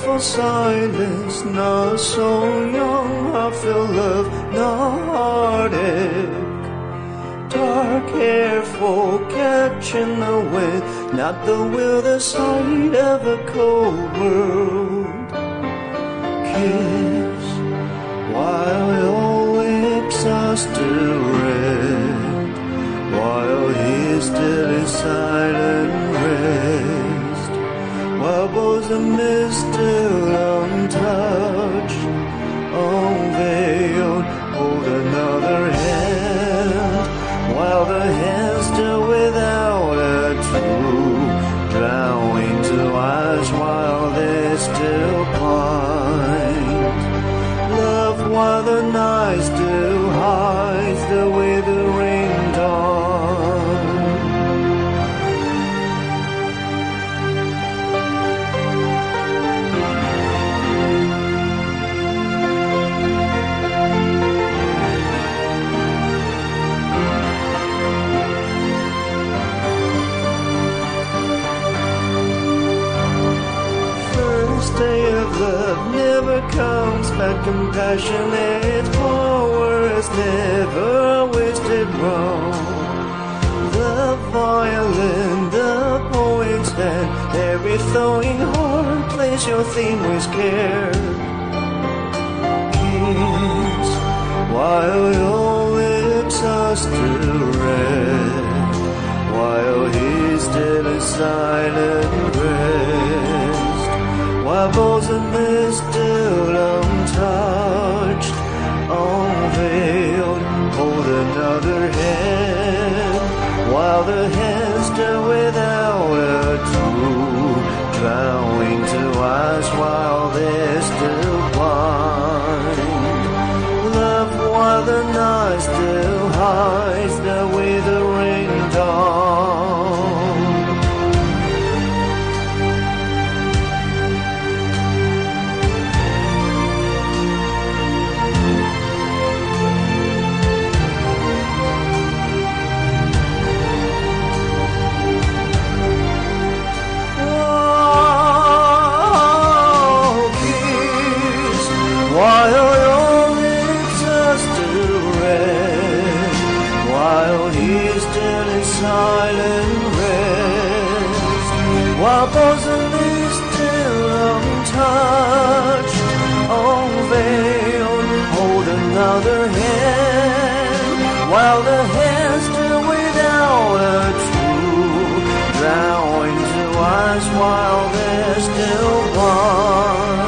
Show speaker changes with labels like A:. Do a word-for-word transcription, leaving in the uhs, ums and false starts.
A: for silence, not so young, I feel love, not heartache. Dark hair for catching the wind, not the will, the sight of a cold world. Kiss while your lips are still red, while he still is silent rest, while bosom is still untouched, unveiled, hold another hand, while the hand still without a true, drowning to eyes while they're still blind. Love while the night still hides the withering dawn. Day of love never comes back compassionate, for words never wasted wrong. The violin, the poet's hand, every thawing heart plays your theme with care. Kiss while your lips are still red, while he still is silent rest, while bosom is still untouched, unveiled, hold another hand, while the hand still without a true, drowning to eyes while they're still blind. Love while the night still hides the withering dawn. While your lips are still red, while he still in silent rest, while bosom is still untouched, unveiled, hold another hand, while the hand still without a true, drowning to eyes while they're still blind.